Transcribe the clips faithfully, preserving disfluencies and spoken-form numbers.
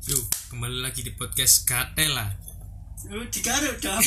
Yuk, kembali lagi di podcast Gatela. Lu digaruk dong.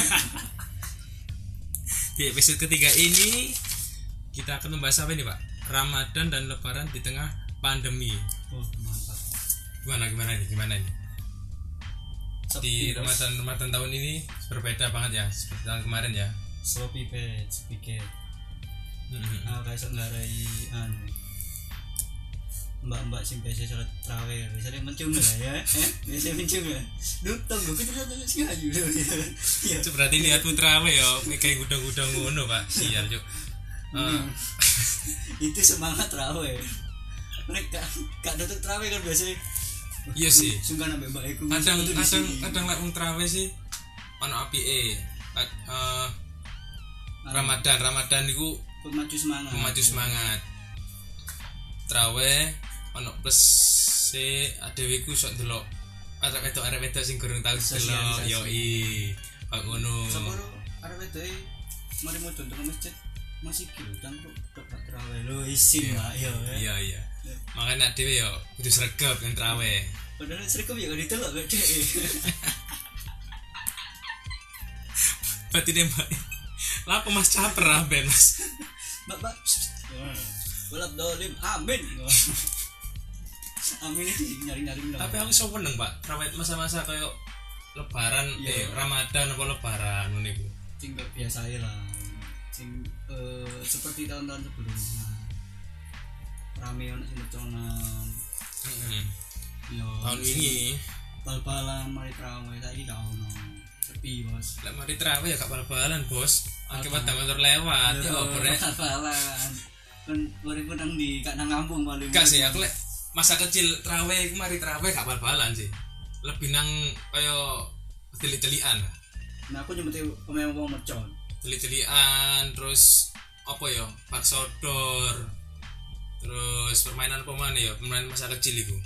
Di episode ketiga ini kita akan membahas apa ini, Pak? Ramadan dan Lebaran di tengah pandemi. Oh, mantap. Gimana gimana ini? Gimana ini? Di Sepi, Ramadan Ramadan tahun ini berbeda banget ya seperti tahun kemarin ya. sloppy pet, speaker. Mm-hmm. Ah, kayak ngarai anu. Mbak-mbak sing biasa salat tarawih, biasanya mencium lah ya. Eh, biasa mencium ya. Duh, tunggu kita satu sing ayu. Iya. Itu berarti niatmu trawe ya, kayak gudang-gudang ngono, Pak. Sial, Cuk. Uh, Itu semangat tarawih. Mereka gak tutup tarawih kan biasanya. Iya sih. Sungkan ambek mbak iku. Kadang kadang kadang lek wong trawe sih ono apike. Uh, Ramadan, Ramadan niku pemacu semangat. Pemacu semangat. Trawe ono plus se adewe ku sok delok arek wedok arek wedok sing gorong tau delok yo i kok ngono. Sepuro arek wedok mari mau contoh masjid masih kilo cangkruk tok trawe lho isin lah yo. Iya iya. Makanya adewe yo kudu sregep kan trawe. Padahal sregep ya gak ditelok kok dek. Berarti nembak. Lah apa Mas caper ah ben Mas. Mbak mbak. Balap dolim amin. Amin iki nyari-nyari. Tapi aku iso seneng, Pak. Trawe masa-masa kayak lebaran eh Ramadan apa lebaran ngono iku. Sing biasa ae lah. Sing eh, seperti tahun-tahun sebelumnya. Rame ono sing leconan. Heeh. Yo. Tahun ini bal-balan mari trawe saiki gak ono. Sepi, Bos. lek mari trawe ya gak bal-balan, Bos. Akibat motor lewat ya opo rek. Bal-balan. Kan urip nang di gak nang kampung paling. Gak sih, aku lek masa kecil trawe iku mari trawe gak bal-balan sih. Lebih nang kaya telik-telikan. Nah, aku nyebut pemain wong mercon. Telik-telikan terus apa ya? Bak sodor. Terus permainan apa mana ya? Permainan masa kecil iku.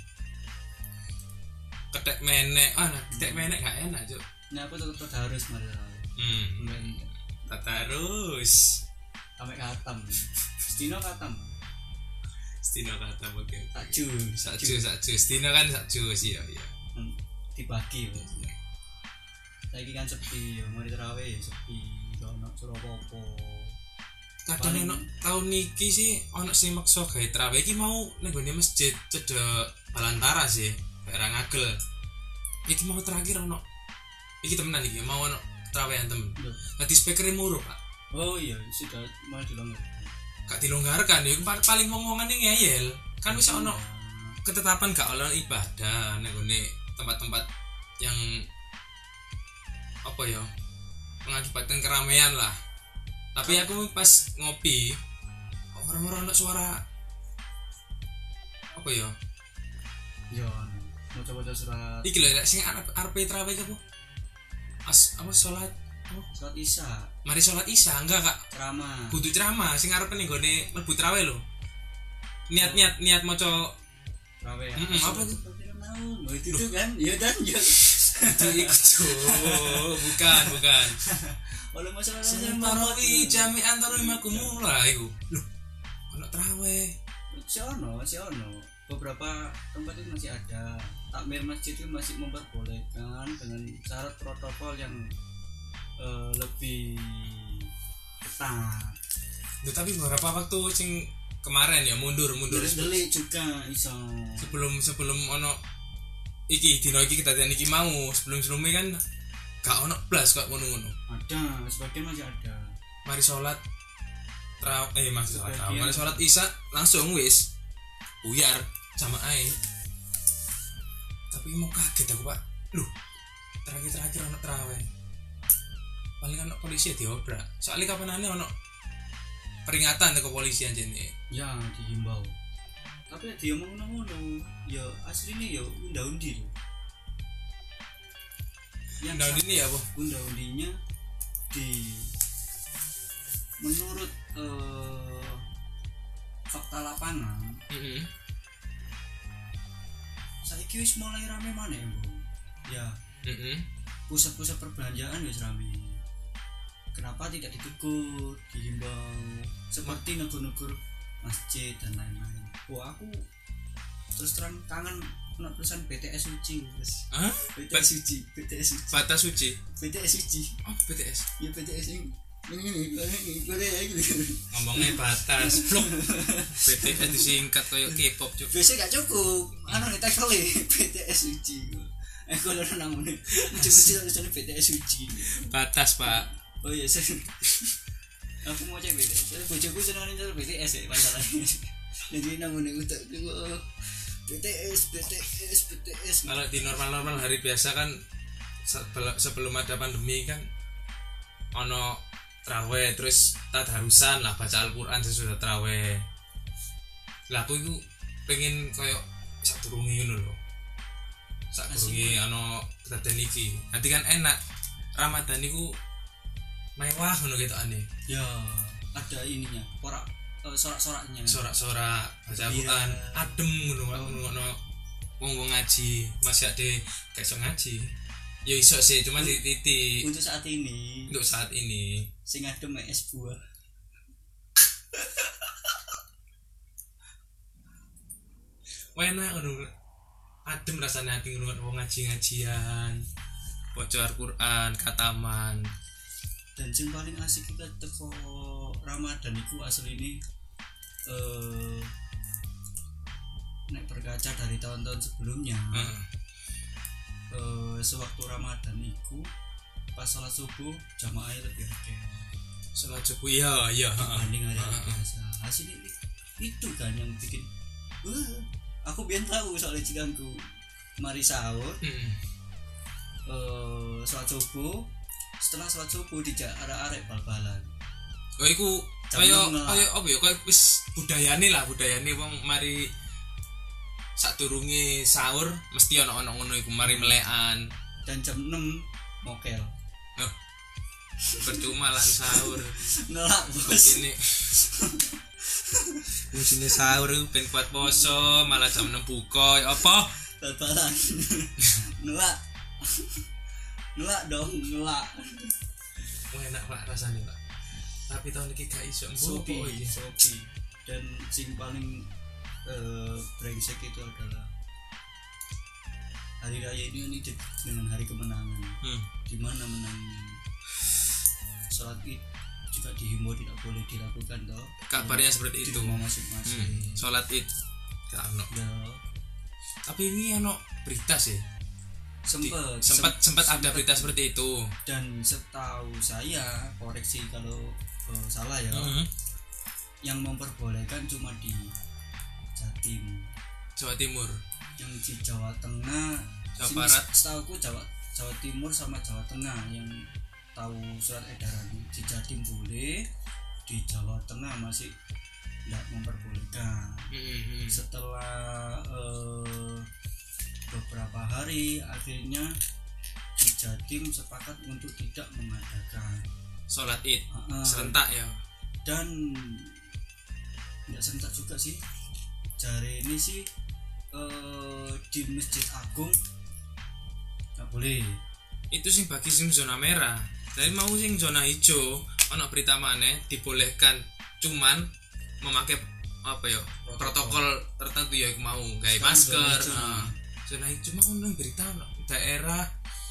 Ketek menek. Ah, nah, ketek menek gak enak, Cuk. Nah, aku tetep harus mari trawe. Hmm. Tatarus. Sampai katam. Stino katam. Stino kata oke. Sakju, Sakju, sakju. Stino kan sakju sih ya, iya. Dibagi Bos. Saiki kan sepi, mari trawe ya sepi. Ono Surapopo. Kadang ono tahun niki sih ono sing maksa gawe trawe iki mau ning gone masjid cedek Balantara sih, daerah Ngagel. Iki mau terakhir ono. Iki temenan iki mau ono trawean temen. Dadi speakere muru, Pak. Oh iya, sudah mau dilonggar. Gak dilonggarkan ya paling ngomongane ngeyel. Kan wis ono ketetapan gak oleh ibadah ning gone tempat-tempat yang apa ya mengakibatkan keramaian lah. Tapi aku pas ngopi orang-orang ada suara apa ya? Ya, mau coba-coba surat. Iki lho sing arep trawe apa? As apa salat apa? Surat Isya. Mari salat Isya enggak, Kak? Ceramah. Kudu ceramah sing arep ning gone mlebu trawe lho. Niat-niat niat maca Trawe. Heeh, apa itu? Oh, itu tuh kan? Iya kan? Ya. Itu itu. Bukan, bukan. Oleh masalah Tarawih jami'an tarawih makumula iku. Loh, ono trawe. Si ono, si ono. Beberapa tempat itu masih ada. Takmir masjid itu masih memperbolehkan dengan syarat protokol yang uh, lebih ketat. Duh, tapi beberapa waktu sing kemarin ya mundur mundur delik juga iso. Sebelum sebelum ono iki dino iki kita iki mau sebelum sebelumnya kan gak ono blas kok ngono-ngono. Ada, sebagian masih ada. Mari sholat tra eh masih sholat tra, mari sholat Isya langsung wis buyar sama ae. Tapi mau kaget aku, Pak. Loh, terakhir-terakhir ono trawe. Paling ono polisi diobrak. Soalnya kapanane ono peringatan ke kepolisian jene. Ya, dihimbau. Tapi dia ngomong ngono, ya aslinya ya unda-undi lho. Yang unda-undi ya, Bu? Unda-undinya di menurut uh, fakta lapangan. Heeh. Saiki wis mulai rame maneh, Bu. Ya. Heeh. Pusat-pusat perbelanjaan wis rame. Kenapa tidak ditegur, dihimbau seperti negur-negur masjid dan lain-lain. Wah, aku terus terang kangen ono tulisan B T S suci Mas. Hah? B T S suci, B T S suci. Batas suci. B T S suci. Oh, B T S. Ya B T S ini ini ini ini Ngomongnya batas. Blok. B T S disingkat kayak K-pop juga. biasanya gak cukup anu nih title B T S suci eh kalau namanya muncul-muncul tulisannya B T S suci Batas, Pak. oh iya saya aku mau cek B T S saya bojoku senang nyetel B T S ya masalahnya jadi namanya utak juga B T S B T S B T S Kalau di normal-normal hari biasa kan sebelum, sebelum ada pandemi kan ono traweh terus tadarusan lah baca Al-Qur'an sesudah traweh. Lah aku itu pengen koyo sadurunge ngono lho. Sadurunge ono kejadian iki. Nanti kan enak. Ramadan iku mewah ngono ketokane. ya ada ininya ora uh, sorak-soraknya Sorak-sorak baca Al-Qur'an, adem ngono ngono wong-wong ngaji. Masih ade gak iso ngaji. Ya iso sih cuma di titik untuk saat ini untuk saat ini sing adem es buah enak ngono adem rasanya ati ngrungokno wong ngaji-ngajian baca Al-Qur'an kataman. dan sing paling asik kita teko Ramadan iku asli ini eh nek berkaca dari tahun-tahun sebelumnya Heeh. eh sewaktu Ramadan iku pas salat subuh jamaah lebih akeh Salat subuh iya iya heeh. dibanding hari Heeh. biasa asli itu kan yang bikin wah aku biar tahu soalnya cikangku mari sahur Heeh. eh salat subuh setelah salat subuh dijak arek-arek bal-balan Oh iku Jam kaya enam lah. kaya apa ya kaya wis budayane lah budayane wong mari sadurunge sahur mesti ana-ana ngono iku mari melekan. dan jam enam mokel Oh, percuma lah sahur. ngelak bos Ini Fungsinya sahur ben kuat poso malah jam enam buka ya apa? bal-balan ngelak ngelak dong ngelak Wah enak Pak rasanya Pak. Tapi tahun ini gak iso sopi mbok iki. sopi dan sing paling eh, brengsek itu adalah hari raya ini ini dengan hari kemenangan Hmm. di mana menangnya sholat id juga dihimbau tidak boleh dilakukan toh Kabarnya seperti di itu. rumah masing-masing Hmm. Salat Id gak ono. ya Tapi ini ono berita sih. Di- sempet sempat sem- sempat ada sempet. berita seperti itu. dan setahu saya koreksi kalau eh, salah ya Heeh. yang memperbolehkan cuma di Jatim Jawa Timur. yang di Jawa Tengah Jawa sini Barat. setahuku Jawa Jawa Timur sama Jawa Tengah yang tahu surat edaran di Jatim boleh di Jawa Tengah masih tidak memperbolehkan Heeh. setelah eh, beberapa hari akhirnya di Jatim sepakat untuk tidak mengadakan Salat Id uh, uh, serentak ya. dan tidak serentak juga sih jari ini sih eh, di Masjid Agung nggak boleh Itu sing bagi sing zona merah. Jadi mau sing zona hijau ono berita maneh dibolehkan cuman memakai apa ya protokol tertentu ya iku mau gawe Sekarang masker. zona hijau. Nah, zona hijau mau nang berita ono daerah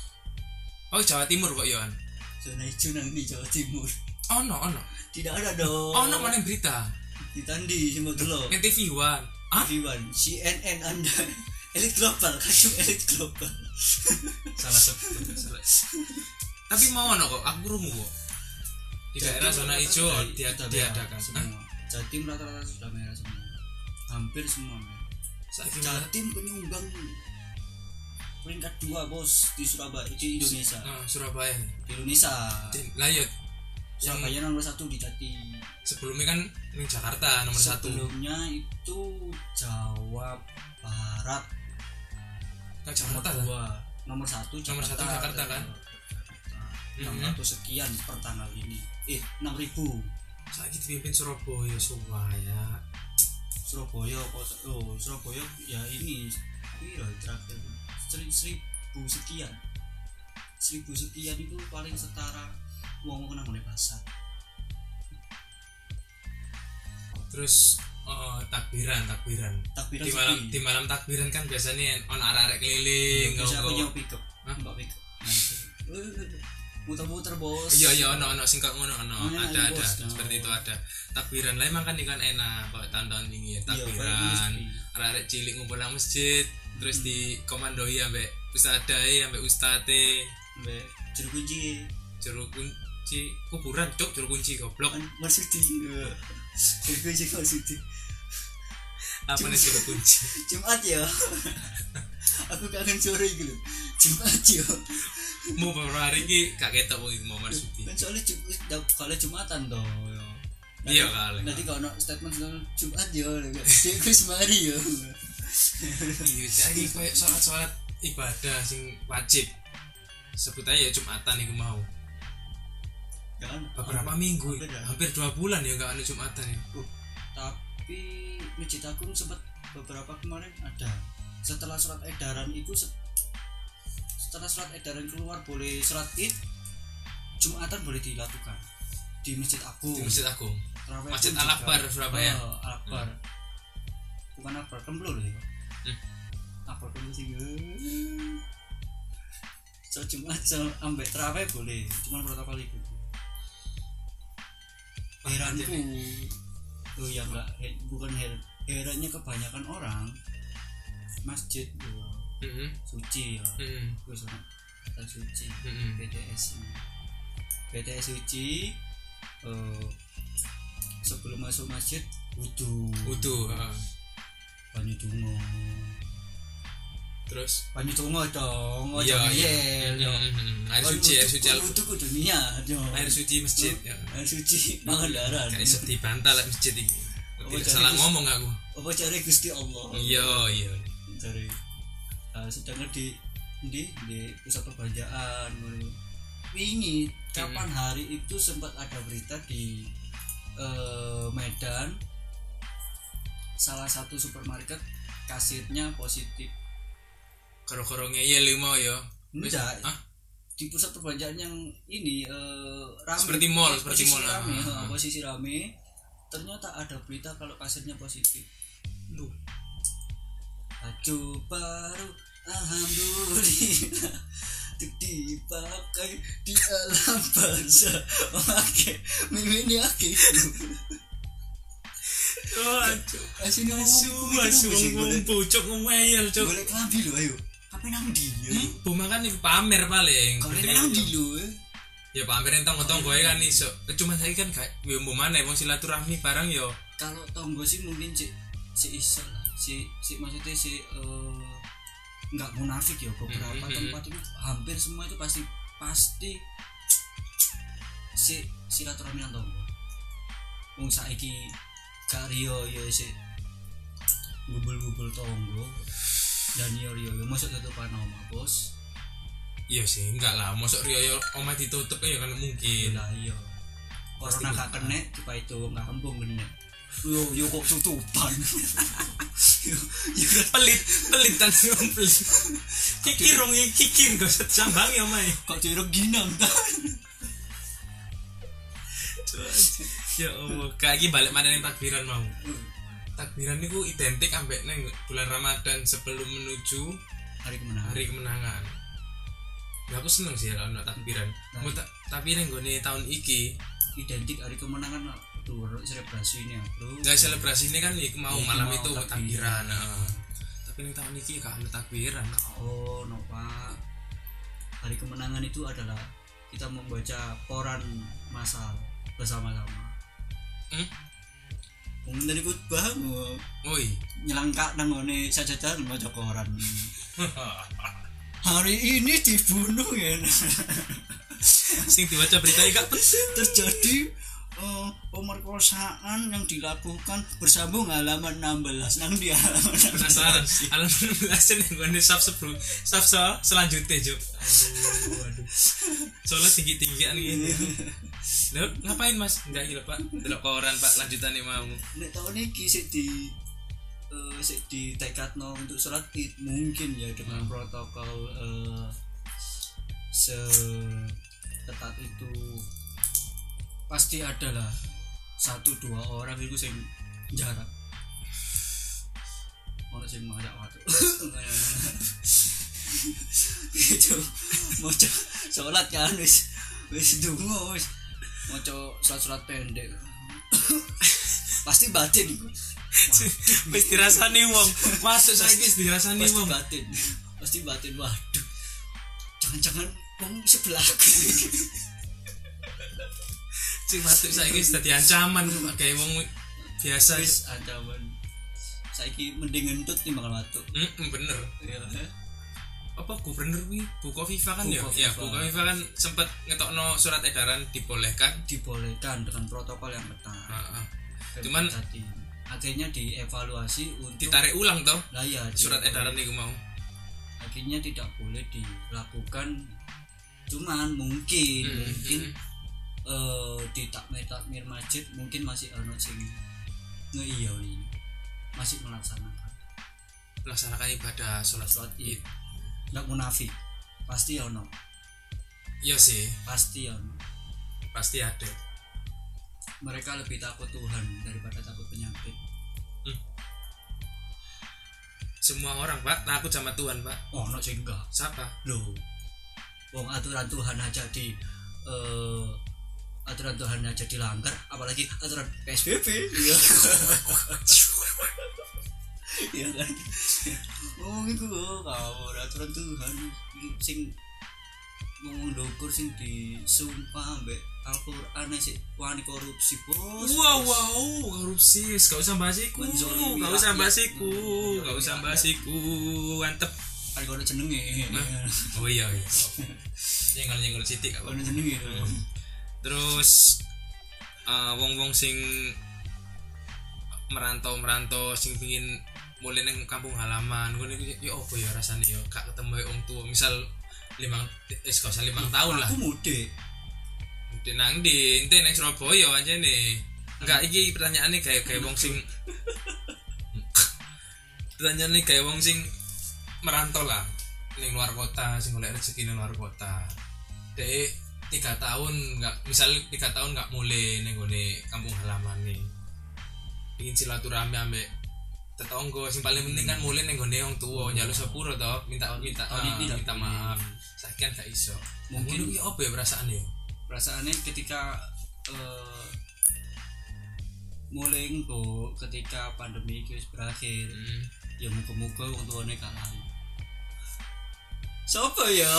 Oh Jawa Timur kok Yohan. zona hijau nang di Jawa Timur Ono ono. tidak ada dong Ono mana berita? ditandi semua dulu N T V One. Ah? Iwan C N N Anda elit global kadung elit global Salah sebut salah. Tapi mau ono kok aku krungu kok. Di daerah zona hijau dia diadakan. semua Jatim rata-rata sudah merah semua hampir semua merah Saiki Jatim penyumbang peringkat dua bos di Surabaya di Indonesia Ah, Surabaya. di Indonesia Lah ya yang Surabaya nomor satu di Jatim sebelumnya kan di Jakarta nomor satu. sebelumnya itu Jawa Barat Kan nomor Jakarta lah. dua nomor satu Nomor satu Jakarta, kan? enam ratus sekian per tanggal ini eh enam ribu Saiki dipimpin Surabaya, Surabaya. Surabaya kota oh Surabaya ya ini piro terakhir Seri- seribu sekian seribu sekian itu paling setara uang uang nang pasar Terus oh takbiran takbiran Takbiran di malam sepi. di malam takbiran kan biasanya on arek-arek keliling Bisa aku nggo- nyewa pick up. Hah? Mbak pick up. Nanti. Muter-muter bos. iya iya ono ono sing kok ngono ono Oh, enak, ada ada bos. seperti Oh. itu ada takbiran lah emang kan ikan enak kalau tahun-tahun tinggi ya Iya, takbiran paling sepi. arek cilik ngumpul nang masjid terus Hmm. di komandoi ambek ustadae ambek ustate Mbak juru kunci. juru kunci kuburan cuk juru kunci goblok Kan maksudnya. Juru kunci maksudnya. apa nih juru kunci Jumat ya. Aku kangen sore gitu. Jumat ya. mau beberapa hari ini gak ketok mau mau marsudi Kan soalnya Jumat kalau Jumatan toh. ya. iya kali Nanti kalau no statement soal Jumat ya, dia Gus Mari ya. iya jadi kayak sholat-sholat ibadah sing wajib sebut aja ya Jumatan nih mau Kan beberapa minggu hampir ya. hampir dua bulan ya gak ada Jumatan ya Tapi Masjid Agung sempat beberapa kemarin ada. Setelah surat edaran itu se- setelah surat edaran keluar boleh sholat Id, Jumatan boleh dilakukan di Masjid Agung. di Masjid Agung Terawih Masjid pun Al juga. Akbar Surabaya Oh, Al Akbar. Bukan Akbar, Kemblur ya. Hmm. Akbar Kemblur sih. So Jumat so ambek terawih boleh, cuman protokol itu. Heranku, oh ya enggak, he- bukan her, herannya kebanyakan orang masjid ya, Mm-mm. suci ya, Mm-mm. terus orang kata suci, Mm-mm. B T S, B T S suci, eh, sebelum masuk masjid wudu, Wudu heeh. banyu dungo, terus banyu dungo dong, ojo iya iya ngeyel, yo. Mm-mm. air suci air suci al- wudu kudu niat, yo. air suci masjid ya air suci Pangandaran. kayak iso dibantah lah masjid ini Oh, tidak jadi salah Gus- ngomong aku Apa cari Gusti Allah? iya iya Cari. Nah, sedangkan di di di pusat perbelanjaan ini kapan hari itu sempat ada berita di eh, Medan salah satu supermarket kasirnya positif. karo-karo ngeyel mau ya Wis- Enggak, ah di pusat perbelanjaan yang ini eh, rame, Seperti mall, posisi seperti mall. rame, Ah, eh, ah. posisi rame, ternyata ada berita kalau kasirnya positif. Duh. Baju baru alhamdulillah untuk dipakai di alam bangsa. Oke, mimi ini oke. Oh, aduh. Asine Asu, asu, ngomong bocok ngomel cok. Boleh kelambi lho ayo. Apa nang ndi ya? Hmm, bu makan iku pamer paling. Kalau Berarti nang kan- ndi lho? eh? Ya pamer entong tonggo kan iso. Cuma saya kan gak yo mbok maneh wong silaturahmi barang yo. Kalau tonggo sih mungkin si si iso lah. Si si maksudnya si eh, nggak munafik ya beberapa Mhm, mhm. tempat itu hampir semua itu pasti pasti si silaturahmi nang tonggo. Wong saiki gak riyo ya si gubul-gubul tonggo dan yo yo yo masuk tutupan omah bos. Iya sih, enggak lah. Mosok riyo omah ditutup ya kan mungkin. Lah iya. Pasti Corona gak buka. kena tiba itu ngambung kena. Yo yo kok tutupan. yo yo Pelit, pelit dan pelit. Kikir rong kikir gak usah jambang ya mai. kok jeruk ginang ta. Ya Allah, kayak iki balik mana ning takbiran mau. Takbiran niku identik ambek neng bulan Ramadan sebelum menuju Hari kemenangan. hari kemenangan. Ya aku seneng sih kalau ono takbiran. Nah. Mau tak tapi neng gone tahun iki, Identik hari kemenangan tuh selebrasi ini ya, Bro. gak selebrasi ini kan iku mau Iki malam mau itu takbiran. takbiran. heeh. Tapi neng tahun iki gak ono takbiran. Oh, no Pak. Hari kemenangan itu adalah kita membaca koran masal bersama-sama. Hmm? Mungkin dari khutbah mau Woi. nyelangkak nang ngone sajadah maca koran. Hari ini dibunuh ya. Sing diwaca berita iki gak Terjadi eh, pemerkosaan yang dilakukan bersambung halaman enam belas nang di halaman enam belas. penasaran sih. Alam enam belas ning gone saf sebelum saf so, selanjutnya, Juk. Aduh, aduh. Soalnya tinggi-tinggian gini. Lho, ngapain Mas? Enggak gila, Pak. Delok koran, Pak, lanjutane mau. Nek tahun iki sik di eh sik di tekadno untuk sholat Id mungkin ya dengan Hmm. protokol eh se ketat itu pasti ada lah satu dua orang itu sing jarak ono sing masak watu. Gitu. Maca salat kan wis wis ndonga wis maca surat-surat pendek. Pasti batin iku. Wis dirasani wong. Masuk saiki wis dirasani Pasti wong. batin. Pasti batin. Waduh. Jangan-jangan wong sebelahku. Sing masuk saiki wis dadi ancaman kayak wong biasa Wis ancaman. Saiki mending ngentut timbang watu. Heeh, bener. Iya. Apa gubernur wi Buko Viva kan ya? Buko Ya, Viva. Buko Viva kan sempat ngetokno surat edaran dibolehkan. Dibolehkan dengan protokol yang ketat. Heeh. Cuman Tadi akhirnya dievaluasi untuk ditarik ulang toh lah ya surat di- edaran niku mau. akhirnya tidak boleh dilakukan, cuman mungkin Hmm, mungkin hmm. eh, di takmir takmir masjid mungkin masih ono sing ngeiyawi, masih melaksanakan Melaksanakan ibadah sholat sholat Id. id, nggak munafik, pasti ono, Iya sih, pasti ono. pasti ada. Mereka lebih takut Tuhan daripada takut penyakit. Semua orang Pak takut sama Tuhan Pak. Oh, ono sing enggak. Siapa? Loh, wong aturan Tuhan aja di eh, aturan Tuhan aja dilanggar, apalagi aturan P S B B. Iya. Iya kan. Oh iku kau aturan Tuhan sing ngomong ndukur sing disumpah ambek Al-Qur'an sik wani korupsi bos. Wow wow korupsi, gak usah bahas iku, Menzolimi gak usah rakyat. bahas iku, Menzolimi gak usah rakyat. bahas iku, antep. Kan kono jenenge. Oh iya iya. Nyenggol nyenggol sithik gak Kono apa-apa. jenenge. Terus eh, wong-wong sing merantau-merantau sing pengin mulai neng kampung halaman, gue nih ya apa ya rasanya ya gak ketemu wong tua, misal limang eh gak usah limang tahun lah, Aku mudik. di nang di ente neng Surabaya aja nih, enggak iki pertanyaannya kayak kayak wong sing pertanyaannya kayak wong sing merantau lah, neng luar kota, sing golek rezeki neng luar kota, deh tiga tahun nggak, misal tiga tahun nggak mulai neng gone kampung halaman nih, ingin silaturahmi ambek tetangga, sing paling penting kan mulai neng gone wong tua, njaluk sepuro toh, minta minta Oh, ah, ini minta tidak maaf, boleh. saiki kan gak iso, Mungkin- mungkin apa ya perasaan ya, Perasaannya ketika eh, mulai engko ketika pandemi itu berakhir, hmm. ya muga-muga wong tuane gak lali. Sopo ya?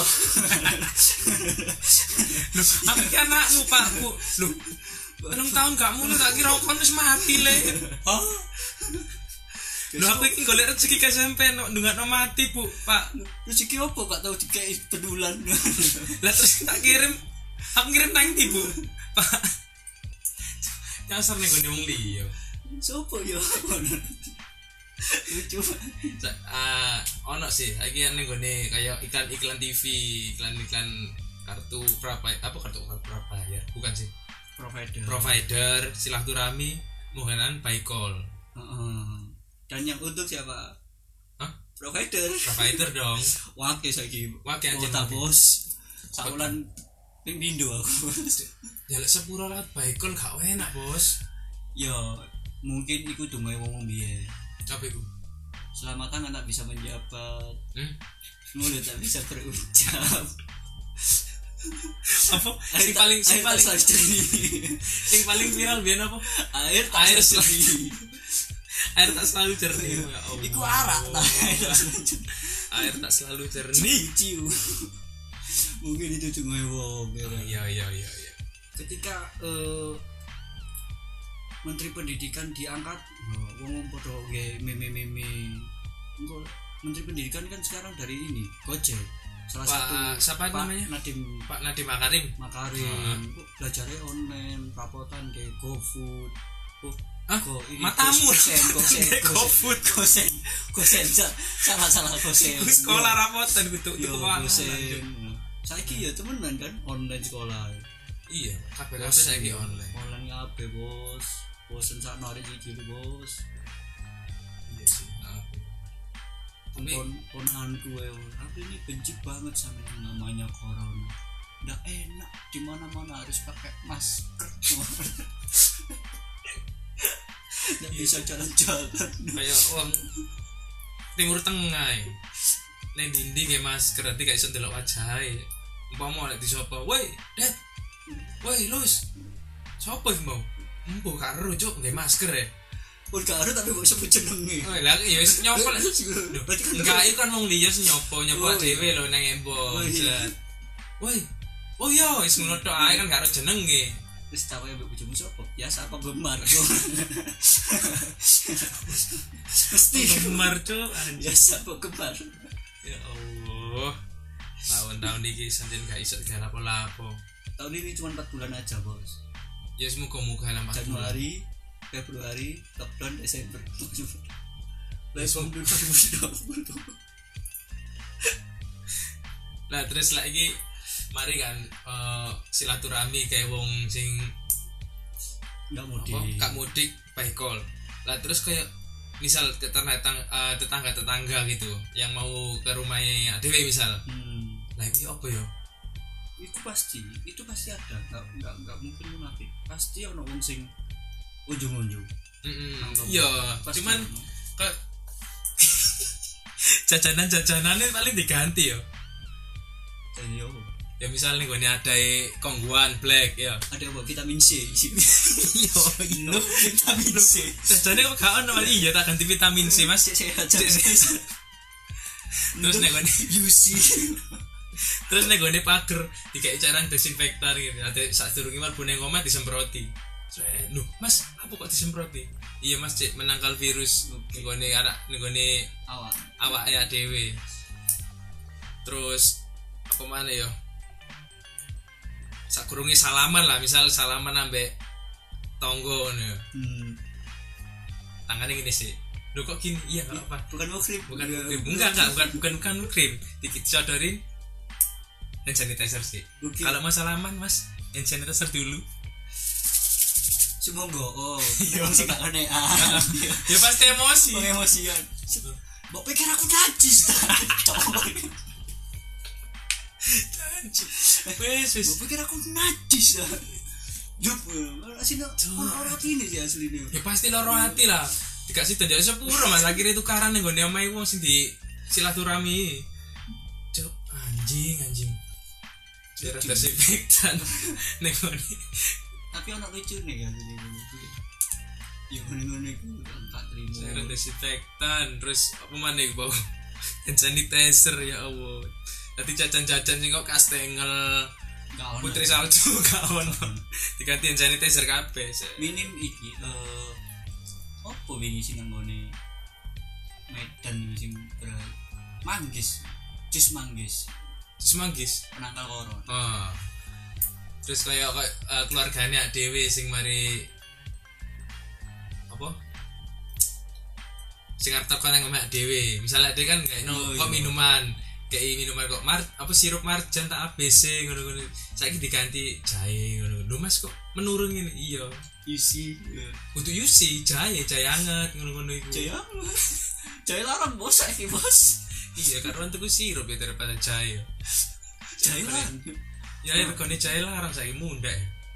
Loh, aku ki anakmu pakku, loh, enam tahun gak mulai tak kira kon wis mati le, Hah? loh aku iki golek rezeki ke S M P no ndungakno mati bu pak, Rezeki apa gak tau dikei pedulan. lah terus tak kirim, aku kirim nang ndi bu, pak, nyasar nih gue wong liya. Sopo ya? Lucu. Sa- ah ono sih lagi ning gone kayak iklan-iklan T V, iklan-iklan kartu berapa apa kartu kartu berapa ya bukan sih Provider. provider silaturahmi muhanan by call. Heeh. Dan yang untung siapa? Hah? Provider. Provider dong. Wake saiki. Wake anjing, Kota wake. bos. Saulan ping pindho aku. Ya lek sepuro lah by call gak enak bos. Ya mungkin iku dungae wong biyen. Apa iku? Selamatan anak bisa menjabat, Hmm? mulut tak bisa berucap. Apa? Sing paling sing paling selalu jernih. sing paling viral biyen apa? Air tak Air selalu selalu- jernih. Air tak selalu jernih. Ya Allah. Iku arak tak air tak selalu jernih. Air tak selalu jernih. Ciu. Mungkin itu dungae wong. ya. Iya iya iya iya. Ketika eh, Menteri Pendidikan diangkat, wong padha nggih meme-meme. Engko Menteri Pendidikan kan sekarang dari ini Gojek. Salah Pak, satu siapa Pak namanya? Nadiem Pak Nadiem Makarim. Makarim. Hmm. Kok belajarnya online, rapotan kayak GoFood. Oh, Hah? Go, ini Matamu. Gosen, Gosen, Kayak GoFood. Gosen, Gosen, Sa- salah salah Gosen. Sekolah rapotan gitu Yo, tuku Gosen. Saiki ya temenan kan online sekolah. Iya, kabeh-kabeh saiki online. Online kabeh, Bos. Bosen sak narik iki lho, Bos. Iya sih. Nah, tapi Pon ponanku ya, aku ini benci banget sama yang namanya corona. Nggak enak, di mana-mana harus pakai masker. Nggak bisa jalan-jalan. kayak uang timur tengah e. Neng dindi kayak masker nanti gak iso ndelok wajahe. Umpama nek disopo, "Woi, Det. Woi, Lus. Sopo iki mau?" Embo karo cuk nggae masker ya. Pun karo tapi kok sebut jenenge. Oh, lah ya wis nyopo. Berarti kan Enggak iku kan wong liya sing nyopo nyopo Oh, dhewe lho nang embong. Oh, iya. Woi. Oh iya, wis ngono tok ae kan gak ero jenenge. wis tau ya mbek bojomu sapa? Biasa penggemar. Mesti Gemar cuk anjir. biasa penggemar. Ya Allah. Tahun-tahun iki sanjen gak iso gak lapo-lapo. Tahun ini cuma empat bulan aja, Bos. Ya semoga-moga lambat Januari, Februari, lockdown, Desember. Welcome to dua ribu dua puluh. Lah terus lagi mari kan uh, silaturahmi kayak wong sing Enggak apa, mudik. gak mudik by call. Lah terus kayak misal tetangga uh, tetangga tetangga gitu yang mau ke rumahnya adewe misal. Hmm. Lah iki apa ya? Itu pasti, itu pasti ada. Enggak enggak enggak mungkin munafik. Pasti ono wong sing ujung-ujung. Mm iya, Pasti cuman ono. ke jajanan-jajanannya paling diganti ya. Jadi yo Ya misal nih gue ada kongguan black ya. ada apa vitamin C. Iya, Lo vitamin C. jajannya kok gak ono iya tak ganti vitamin C Mas. Sehat Terus nih gue U C. terus nih gue pager dikai cairan desinfektan gitu. Ada saat turun gimana punya ngomong disemproti. Loh Mas, apa kok disemproti? Iya Mas, cek menangkal virus. Nih gue nih anak nih gue nih Awak. awak ya dewe. Terus apa mana ya? Sakurungi salaman lah, misal salaman ambek tonggo nih. Hmm. Tangannya gini sih. Loh kok gini? Iya enggak apa. Bukan mukrim. Bukan mukrim. Enggak enggak bukan bukan bukan mukrim. Dikit sodorin hand sanitizer sih. Okay. Kalau mau salaman Mas, hand sanitizer dulu. Sumonggo. Oh, Iya. wong sing gak kenean. Ya pasti emosi. Wong emosian. Mbok pikir aku najis ta? Wes wes. Mbok pikir aku najis ta? Jup, asine ora atine sih asline. Ya pasti loro hati lah. Dikasih tanda sepuro Mas akhirnya tukaran ning gone omahe wong sing di silaturahmi. Cuk, anjing anjing. Cairan desinfektan ning gone. Tapi ono lucune ya jadi. Ya ngene-ngene iku tak terima. Cairan desinfektan terus apa maneh bau hand sanitizer ya Allah. Tadi jajan-jajan sing kok kastengel Gak ono. putri salju gak ono. Diganti hand sanitizer kabeh. Minim iki eh opo wingi sing nggone Medan iki sing ber manggis. Jus manggis. Terus manggis. Penangkal corona. Oh. Terus kayak uh, keluarganya dewe sing mari apa? Sing arep tekan nang omah dewe. Misalnya dia kan kayak no Oh, kok iya. minuman, kayak minuman kok mar apa sirup marjan tak A B C ngono-ngono. Saiki diganti jahe ngono. Lho Mas kok menurun ngene? Iya. Isi. Untuk U C jahe, jahe anget ngono-ngono iku. Jaya. Jaya larang bos saiki bos. Iya, karuan tuku sirup ya daripada jahe. Jaya larang. Ya regane jahe larang saiki mundhak.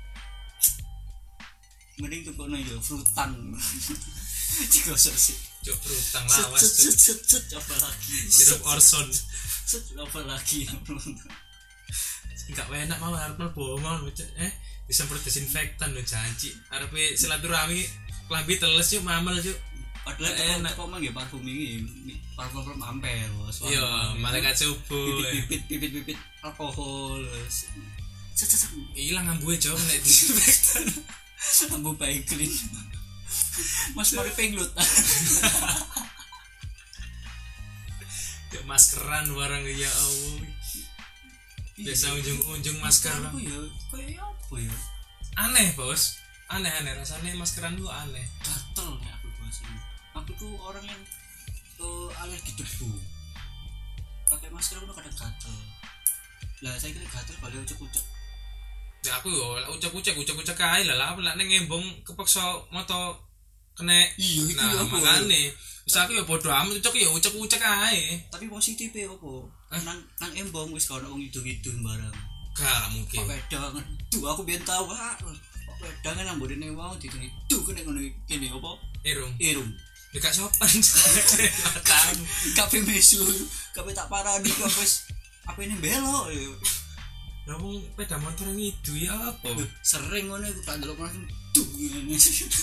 Mending tukono ya frutan. Digosok sih. Cuk rutang Set lawas set cuk. set set set apa lagi? Sirup Orson. Set apa lagi? Enggak enak mau arep mlebu mau Cuk. Eh disemprot desinfektan lho janji. Arepe silaturahmi klambi teles yuk mamel yuk. Padahal Enak. enak kok mang ya parfum iki parfum ampel bos. Iya, malaikat subuh. Bibit bibit bibit alkohol. Set set set. Ilang ambuhe Cuk nek disinfektan. Ambu baik clean. Mas mari penglut. Ya maskeran barang ya Allah. Biasa unjung-unjung masker. Apa ya? Kayak apa ya? Aneh, Bos. Aneh-aneh rasanya maskeran tuh aneh. Gatel nih aku bahas ini. Aku tuh orang yang uh, alergi debu. Pakai masker aku kadang gatel. Lah saya kira gatel balik ucek-ucek. Ya aku yo ucek-ucek ucek-ucek ae lah lah lek ning ngembong kepeksa moto kena. Iya itu Nah, apa? makane wis aku yo bodo amat ucek yo ucek-ucek ae. Tapi positifnya apa? Hah? Nang nang embong wis kono wong idul-idul barang. Gak mungkin. Pak wedangan. Duh aku biyen tau Pak. Pak wedangan nang bodene wong diduni duh kene ngono kene apa? Irung. Irung. Ya gak sopan. Tahu. Kabeh mesu, kabeh tak parani kabeh apa ini belok ya. Lah wong sepeda motor ngidu ya apa? Sering ngono iku tak delok langsung duh ngene.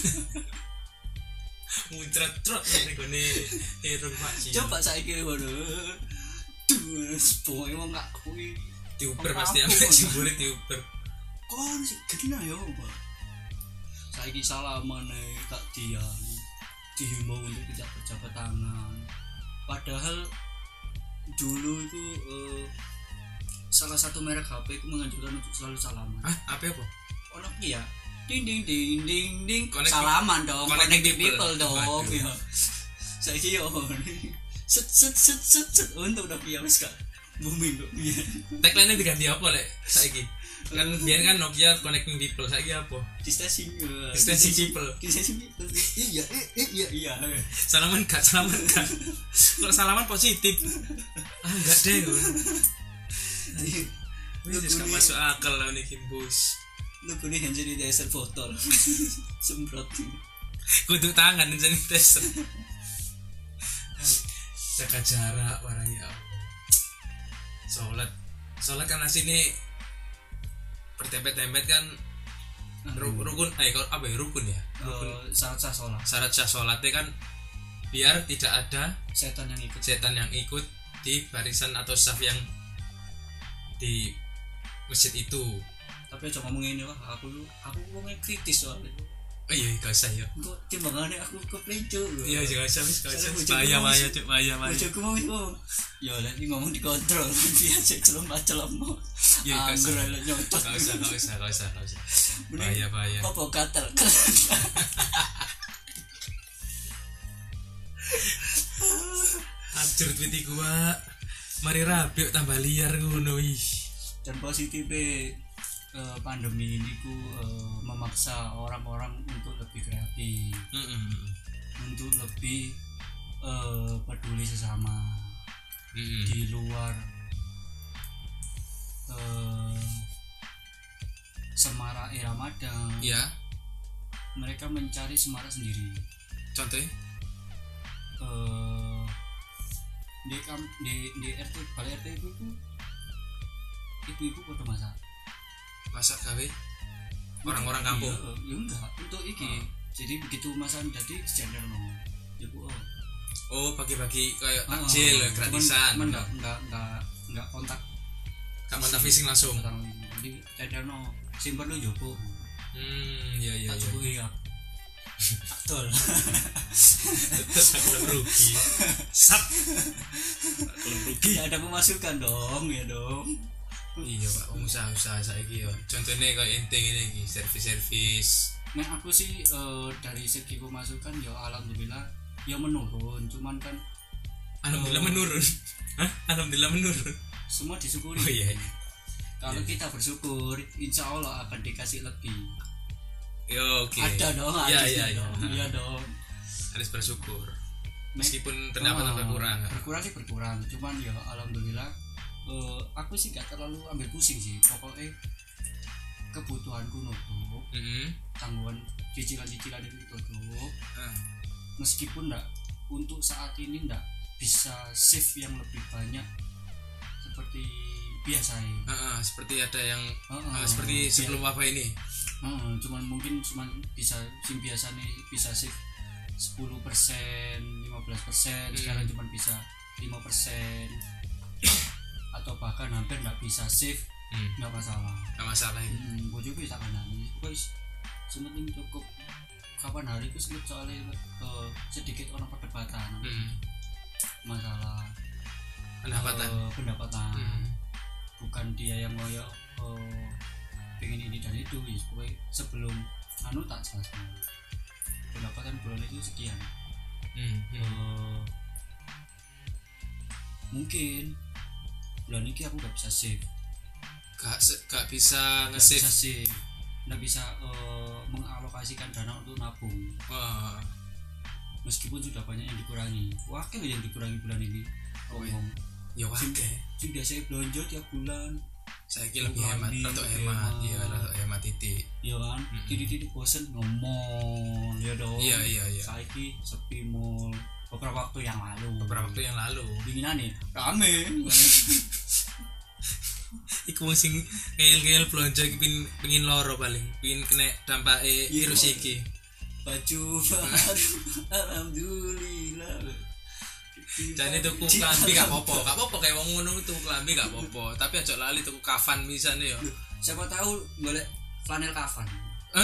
Muncrat-trot ning gone irung Pak Ci. Coba saiki ngono. Duh, pokoke wong gak kuwi diuber pasti ambek jebule diuber. Kon sih gena ya, Pak. Saiki salaman ae tak dian. Dihimbau untuk tidak berjabat tangan. Padahal dulu itu uh, salah satu merek H P itu menganjurkan untuk selalu salaman. Hah, apa apa? Ono ki ya. Ding ding ding ding ding. Connect salaman dong, connect connect people, people dong. Ya. Saiki yo. Set set set set set untuk udah piye wis Kak. Booming kok piye. Tagline-nya diganti apa lek saiki? Kan biyen kan Nokia connecting people, saiki apa? Distancing. Distancing people. Distancing people. Iya, eh iya iya. Salaman gak, salaman gak. Kalau salaman positif. Ah enggak deh. Wis gak masuk akal lah niki bos. Lu kuwi yang jadi dasar botol. Semprot. Kudu tangan sanitizer. Jaga jarak warai ya. Salat. Salat kan asine bertempet-tempet kan rukun eh apa ya rukun ya? Rukun uh, syarat sah sholat. Syarat sah sholatnya kan biar tidak ada setan yang ikut. Setan yang ikut di barisan atau saf yang di masjid itu. Tapi aja ngomong ini lah, aku aku ngomongnya kritis soalnya. Oh iya, gak usah ya. Kok timbangannya aku keplencuk lho. Iya, gak usah, gak usah. Bahaya, bahaya, cuk, bahaya, bahaya. Bojoku mau ngomong. Ya lah iki ngomong dikontrol, biasa celem-celem. Iya, gak usah. Nyontot. Gak usah, gak usah, gak usah, gak usah. Bahaya, bahaya. Apa katel? Hancur tweet iku, Pak. Mari rapi tambah liar ngono ih. Dan positifnya uh, pandemi ini ku uh, memaksa orang-orang untuk lebih kreatif, mm-hmm. untuk lebih uh, peduli sesama, mm-hmm. di luar uh, semarak Ramadan. Ya. Mereka mencari semarak sendiri. Contohnya? Uh, di kam di di R T balai R T itu ibu-ibu pada masak masak gawe orang-orang kampung. Iya, ya enggak untuk iki. Oh. Jadi begitu masak jadi sejajar no. Ya Bu. Oh, oh bagi-bagi kayak takjil, oh, gratisan. Cuman enggak enggak enggak enggak kontak. Enggak kontak fisik langsung. Jadi sejajar no. Simpen lu jopo. Hmm, iya iya iya. Tak ya. Betul. Terus aku rugi. Sap. Kalau rugi ya ada pemasukan dong, ya dong. Iya Pak, usaha-usaha saiki ya. Contohnya kayak ente ngene iki, servis-servis. Nah, aku sih uh, dari segi pemasukan ya alhamdulillah ya menurun, cuman kan alhamdulillah uh, menurun. Hah? Alhamdulillah menurun. Semua disyukuri. Oh iya. Kalau iya. Kita bersyukur, insya Allah akan dikasih lebih. Yo, oke. Okay. Ada dong, ada ya, ya, dong. Iya ya. dong. Harus bersyukur. Meskipun pendapatan oh, berkurang. Berkurang sih berkurang, cuman ya alhamdulillah Uh, aku sih gak terlalu ambil pusing sih, pokoknya kebutuhanku nutup, mm-hmm. tanggungan cicilan-cicilan itu tutup, uh. meskipun ndak untuk saat ini ndak bisa save yang lebih banyak seperti biasanya. Uh-uh, seperti ada yang uh-uh, uh, seperti sebelum biar, apa ini? Uh, cuman mungkin cuman bisa sim biasa nih bisa save sepuluh persen, lima belas persen, mm. sekarang cuma bisa lima persen. Atau bahkan hampir nggak bisa save, nggak hmm. masalah nggak masalah ini hmm, gue juga tak kanani guys sementing cukup kapan hari itu sebut soalnya uh, sedikit orang perdebatan hmm. masalah pendapatan uh, pendapatan hmm. bukan dia yang ngoyo uh, pengen ini dan itu ya sebelum anu tak jelaskan pendapatan bulan itu sekian hmm. Hmm. Uh, mungkin bulan ini aku gak bisa save gak, gak bisa nge-save gak bisa save gak bisa uh, mengalokasikan dana untuk nabung. Wah. Meskipun sudah banyak yang dikurangi wakil yang dikurangi bulan ini ngomong ya wakil sudah saya belanja tiap bulan Saiki lebih hemat, atau hemat, iya, atau hemat titik. Iya kan, Mm-mm. titik-titik bosen ngomong, ya dong. Iya iya iya. Saiki sepi mall beberapa waktu yang lalu. Beberapa waktu yang lalu. Dinginan nih, rame. Iku wong sing ngel-ngel blonjo iki pin pengin loro paling, pengin kena dampake virus iki. Baju baru, alhamdulillah. Jane tuku klambi gak apa-apa, gak apa-apa kayak wong ngono tuku klambi gak apa-apa, tapi aja lali tuku kafan misane ya. Siapa tahu golek flanel kafan. Eh,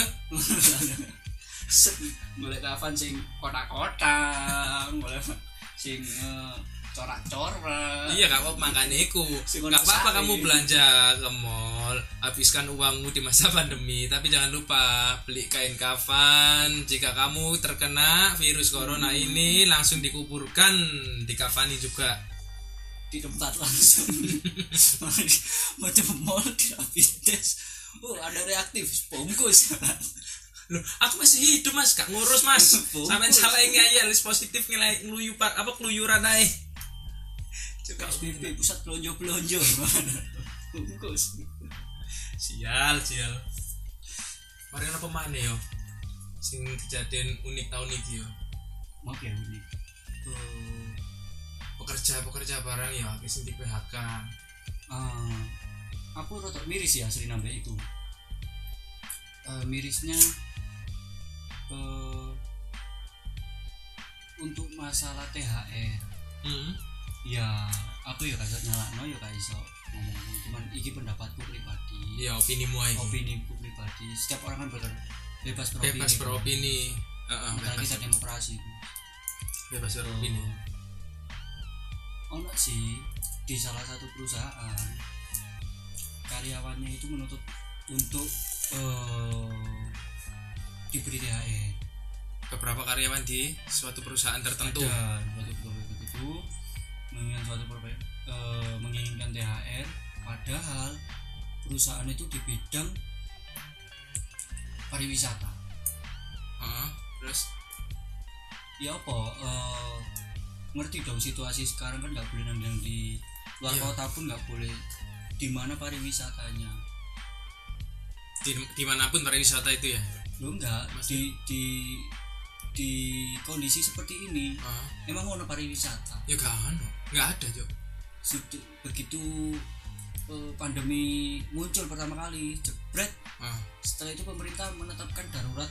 Golek kafan sing kotak-kotak, golek sing uh, corak-corak. iya gak apa-apa makane iku. Gak apa-apa kamu belanja ke mall, habiskan uangmu di masa pandemi, tapi jangan lupa beli kain kafan. Jika kamu terkena virus corona hmm. ini langsung dikuburkan, dikafani juga di tempat langsung. Macam mall di rapid test. Oh, ada reaktif, bungkus. Loh, aku masih hidup mas, gak ngurus mas. Sampai salah ngayal, positif nilai ngeluyu pak, apa keluyuran aja. P S B B pusat pelonjo-pelonjo. Bungkus. Sial, sial. Mari apa mana yo? Sing kejadian unik tahun ini yo. Maaf ya unik. Uh, pekerja-pekerja barang ya, sing di P H K. Ah, aku rotok miris ya sering nambah itu. Uh, mirisnya uh, untuk masalah T H R. Hmm. Ya, aku ya gak iso nyalakno ya gak iso ngomong, cuman iki pendapatku pribadi. Ya, opinimu aja. Opiniku pribadi. Setiap orang kan ber bebas beropini. Bebas beropini. Heeh, uh, bebas. Kita demokrasi. Bebas beropini. Oh, ono sih di salah satu perusahaan karyawannya itu menuntut untuk uh, diberi T H R. Beberapa karyawan di suatu perusahaan tertentu. Ada suatu perusahaan tertentu menginginkan suatu perusahaan uh, menginginkan T H R, padahal perusahaan itu di bidang pariwisata. Uh, terus ya apa uh, ngerti dong situasi sekarang kan nggak boleh nandang di luar yeah. kota pun nggak boleh, di mana pariwisatanya di dimanapun pariwisata itu ya lo enggak di di di kondisi seperti ini uh. emang mau pariwisata ya gak ada nggak ada Jo. Sudah begitu uh, pandemi muncul pertama kali jebret uh. setelah itu pemerintah menetapkan darurat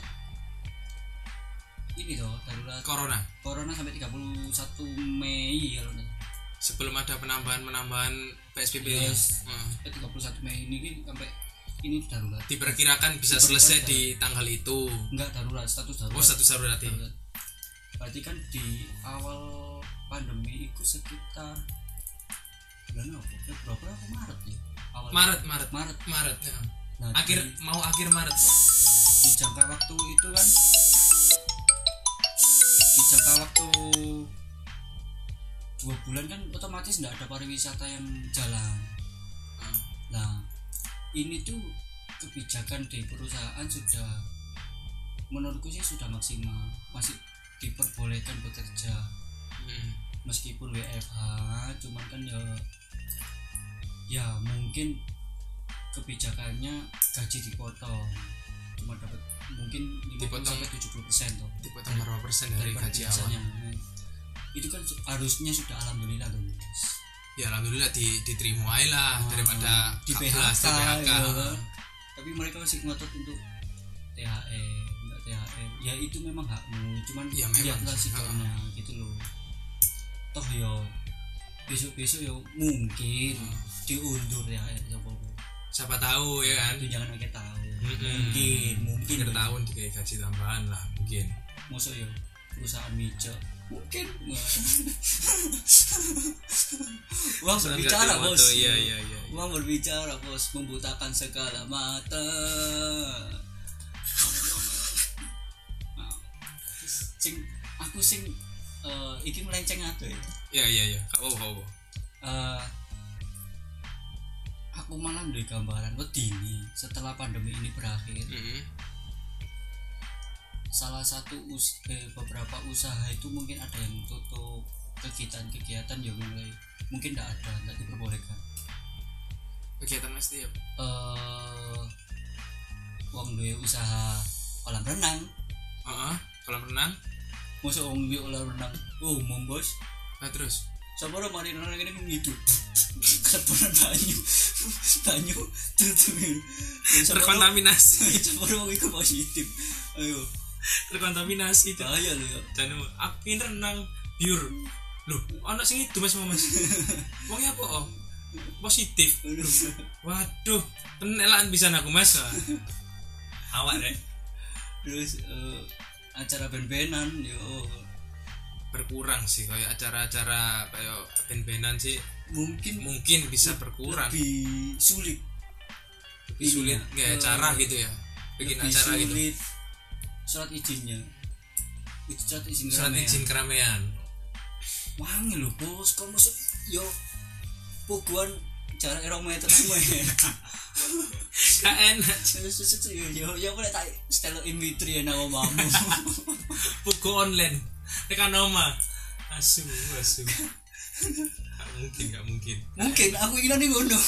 ini toh darurat corona corona sampai tiga puluh satu Mei kalau sebelum ada penambahan-penambahan P S B B yes. ya uh. tiga puluh satu Mei ini sampai ini darurat diperkirakan bisa selesai darurat. Di tanggal itu enggak darurat status darurat oh status darurat, darurat. Berarti kan di awal pandemi itu sekitar bulan apa Februari apa Maret ya awal Maret Maret Maret Maret ya. Nah, akhir di, mau akhir Maret ya. Di jangka waktu itu kan di jangka waktu dua bulan kan otomatis enggak ada pariwisata yang jalan. hmm. Nah ini tuh kebijakan di perusahaan sudah menurutku sih sudah maksimal, masih diperbolehkan bekerja hmm. meskipun W F H, cuman kan ya ya mungkin kebijakannya gaji dipotong, cuma dapat mungkin lima puluh sampai tujuh puluh persen toh, dipotong berapa persen dari, dari gaji awal. Itu kan harusnya sudah alhamdulillah loh guys. Ya alhamdulillah di, diterima aja lah oh, daripada di P H K, di P H K. Ya. Tapi mereka masih ngotot untuk T H R, enggak T H R. Ya itu memang hakmu, cuman ya, lihatlah sikapnya gitu loh. Toh yo besok-besok yo mungkin hmm. diundur T H R siapa siapa tahu ya kan. Itu jangan kita tahu. Mm-hmm. Mungkin mungkin akhir tahun dikasih gaji tambahan lah mungkin. Mosok yo perusahaan mijak mungkin uang berbicara bos. Iya, iya, iya. Uang berbicara bos, membutakan segala mata. Nah, sing aku sing uh, iki melenceng ado ya. Iya iya iya. Kau kau. Uh, aku malah duwe gambaran wedine setelah pandemi ini berakhir. Mm-hmm. Salah satu us- eh, beberapa usaha itu mungkin ada yang tutup, kegiatan-kegiatan yang mulai mungkin tidak ada, tidak diperbolehkan. kegiatan Mas Tio eh wong duwe usaha kolam renang. heeh kolam renang Mosok wong duwe kolam renang umum bos. nah terus Sapa ora mari renang ngene ngidu. Kebonan banyu. Banyu tutup. terkontaminasi Sapa ora wong iku positif. Ayo. terkontaminasi Bahaya lho ya. dan aku renang biur loh ana sing itu Mas Mas wong apa oh positif waduh penelan bisa aku Mas awak rek Terus uh, acara ben-benan yo berkurang sih kayak acara-acara kayak ben-benan sih mungkin mungkin bisa berkurang lebih sulit lebih sulit kayak uh, cara gitu ya bikin acara sulit gitu surat izinnya itu surat izin surat keramaian. izin keramaian Wangi lho bos kok masuk yo puguan jarak erong meter semua gak enak yo yo boleh tak stelo in vitro ya nama mamu buku online tekan oma asu asu gak mungkin gak mungkin mungkin aku ingin nih ngono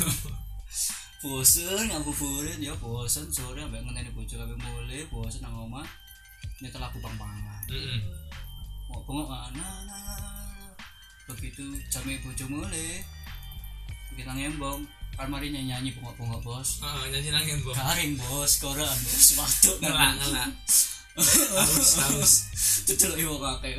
bosen ngabuburit ya bosen sore ambek ngenteni bojo kabeh mulai bosen nang omah nyetel lagu pang-pangan heeh mau bengok ana begitu jame bojo mulai kita ngembong kalmari nyanyi bengok-bengok bos heeh nyanyi nang embong garing bos koran bos waktu ngelak ngelak haus haus tutul iwo kakek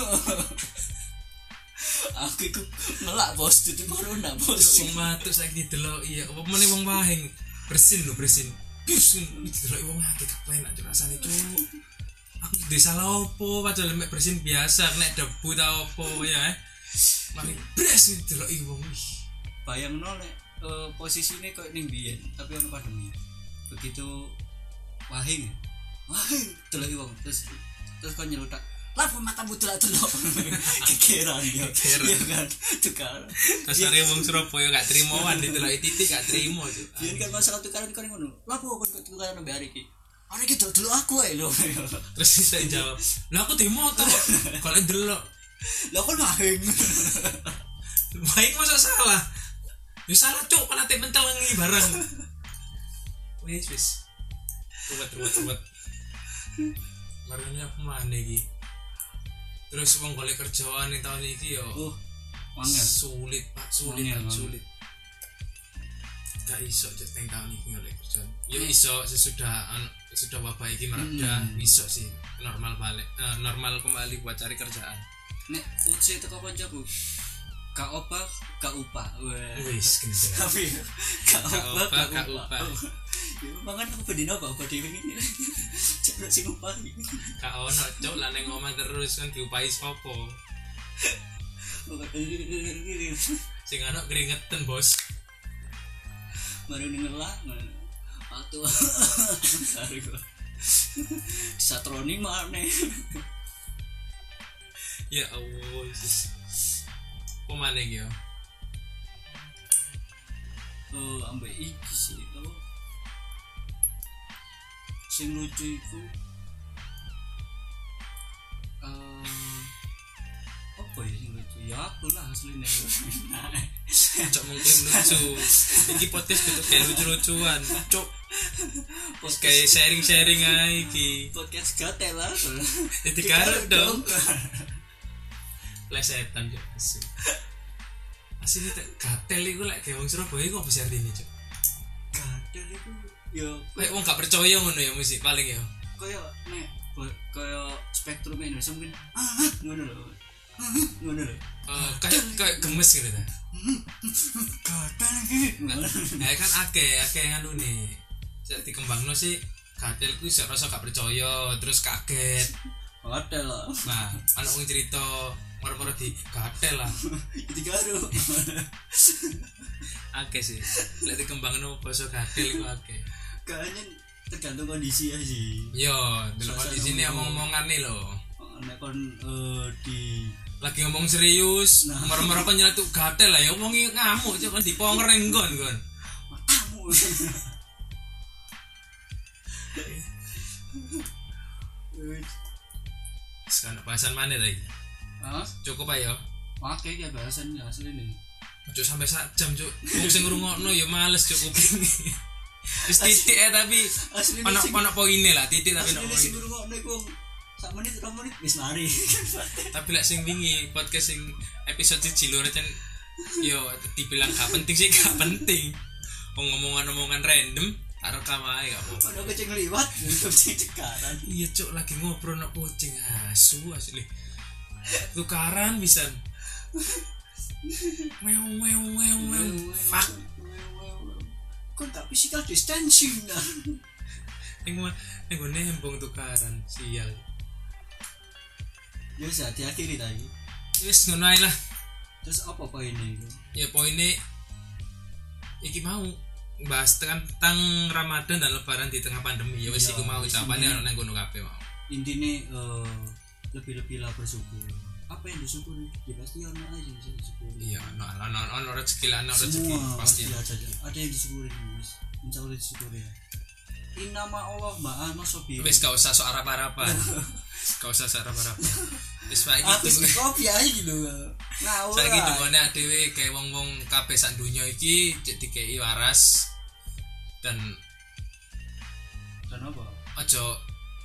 aku iku ngelak bos tutul corona bos wong matuk saiki delok iya apa meneh wong wahing bersin lho bersin bersin delok wong akeh kepenak cuk rasane cuk aku desa salah opo padahal mek bersin biasa nek debu ta opo ya eh mari bres delok wong wih bayangno nek uh, posisine koyo ning biyen tapi ono pandemi begitu wahing wahing delok wong terus terus kok nyelutak lah matamu delok-delok kekeran yo ya kan tukar kasare wong Surabaya gak trimoan diteloki titik gak trimo cuk yen kan masalah tukaran kan ngono lha apa kon tukaran mbek hari iki hari iki delok aku ae lho terus saya jawab lah aku di motor kalau delok lah kon wahing baik masa salah ya salah cuk kan ate mentel ngi barang wis wis ruwet ruwet ruwet marane apa maneh iki terus wong golek kerjaan ning tahun iki yo oh wangel sulit Pak sulit wangel, sulit gak iso cek teng tahun iki golek kerjaan ya iso sesudah sesudah wabah iki mereda hmm. iso sih normal balik uh, normal kembali buat cari kerjaan nek uci teko kancaku gak opah gak upah wis gendeng tapi gak opah gak gak upah ya mangan aku bedino apa upah dhewe ngene cepet sing upah gak ono cuk lah ning omah terus kan diupahi sapa sing ana keringetan bos baru ngelak waktu hari gua disatroni maneh ya Allah Yesus pemane iki yo oh ambek iki sih to sing lucu iku uh, apa ya sing lucu ya aku lah asline cok mengklaim lucu iki podcast kudu kayak lucu-lucuan cok kayak sharing-sharing ae iki podcast gatel lah jadi garuk dong plesetan cok asu asine gatel iku lek gawe wong Surabaya iku apa sih artine cok gatel iku yo lek wong gak percaya ngono ya musik paling ya kaya nek kaya spektrum Indonesia mungkin ah ngono lho ngono lho eh kayak kayak gemes gitu ta gatel iki nah kan akeh akeh nganune sik dikembangno sih gatel ku iso rasa gak percaya terus kaget gatel lah nah ana wong cerita moro-moro di gatel lah itu karo akeh sih lek dikembangno basa gatel iku akeh kayaknya tergantung kondisi ya sih yo delok kondisi ini omong-omongane lho nek kon uh, di lagi ngomong serius nah. moro-moro kon nyeletuk gatel lah ya omongi ngamuk cok kon diponger ning nggon kon matamu sekarang bahasan mana lagi Hah? cukup ayo pakai ya bahasan asli nih Cuk sampai sak jam cuk. Wong sing ngrungokno ya males cuk kuping. Wis titik ya tapi ono ono poine lah titik tapi ono poine. Sing ngrungokno iku sak menit rong menit wis mari. Tapi lek sing wingi podcast sing episode siji lho recen yo dibilang gak penting sih gak penting. Wong ngomongan-omongan random karo kamae gak apa. Ono kucing liwat, kucing cekaran. Iya cuk lagi ngobrol nek kucing asu asli. Tukaran bisa. Meow meow meow meow. Fuck. Kok tak physical distancing nah. Ning ning gone hembong tukaran sial. Ya wis diakhiri ta iki. Wis ngono ae lah. Terus apa poinnya itu? Ya poinnya iki mau bahas tentang Ramadan dan Lebaran di tengah pandemi. Ya wis iku mau jawabannya ono nang ngono kabeh mau. Intine uh, lebih-lebihlah bersyukur. Apa yang disyukuri? Ya pasti ono aja yang bisa disyukuri. Iya, ono ono ono rezeki lah, ono rezeki pasti aja. Ada yang disyukuri Mas. Insyaallah disyukuri ya. Innama Allah ma'a nasabi. Wis gak usah sok arap-arapan. Gak usah sok arap-arapan. Wis wae gitu. Aku kopi aja gitu. Ngawur. Saiki dungane dhewe kayak wong-wong kabeh sak donya iki cek dikeki waras dan dan apa? Aja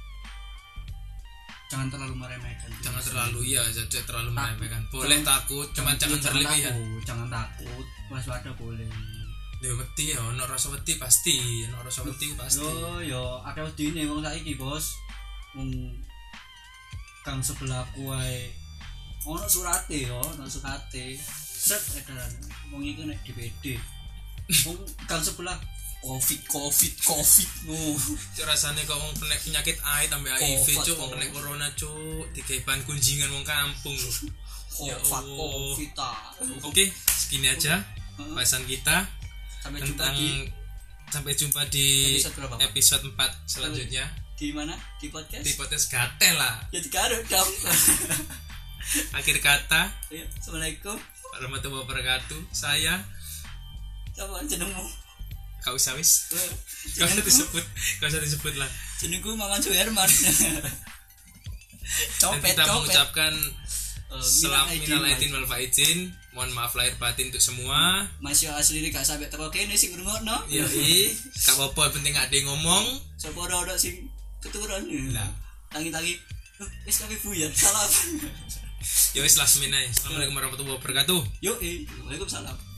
jangan terlalu meremehkan. Jangan terlalu iya, jangan terlalu meremehkan. Boleh takut, cuma jangan berlebihan. Jangan takut, waspada boleh. Ya wedi ya, ono rasa wedi pasti, ono rasa wedi pasti. Yo yo, akeh wedine wong saiki, Bos. Wong kang sebelahku wae ono surate yo, ono surate. Set edaran. Wong iki nek D P D. Wong kang sebelah covid covid covid no. Cuk rasane kok wong kena penyakit A I tambah H I V cuk, wong kena corona cuk, digawe ban kunjingan wong kampung lho. Ya covid ta. Oke, segini aja bahasan kita. Sampai tentang, jumpa di sampai jumpa di episode, episode empat selanjutnya. Di mana? Di podcast? Di podcast gatel lah. Ya digaruk dong. Akhir kata. Ya, Assalamualaikum warahmatullahi wabarakatuh. Saya siapa jenengmu? Kau usah wis. Kau usah disebut, kau usah disebut lah. Jenengku Maman Suherman. Copet, kita copet. mengucapkan uh, selamat minal aidin wal faizin. Mohon maaf lahir batin untuk semua. Masih asli gak sampai teko kene sing ngrungokno. Iya, gak apa-apa penting ada yang ngomong. Sopo ora sing keturunan. Lah, tangi-tangi wis kabeh buyar. Salam. Ya wis last minute. Assalamualaikum warahmatullahi wabarakatuh. Yo, eh, Waalaikumsalam.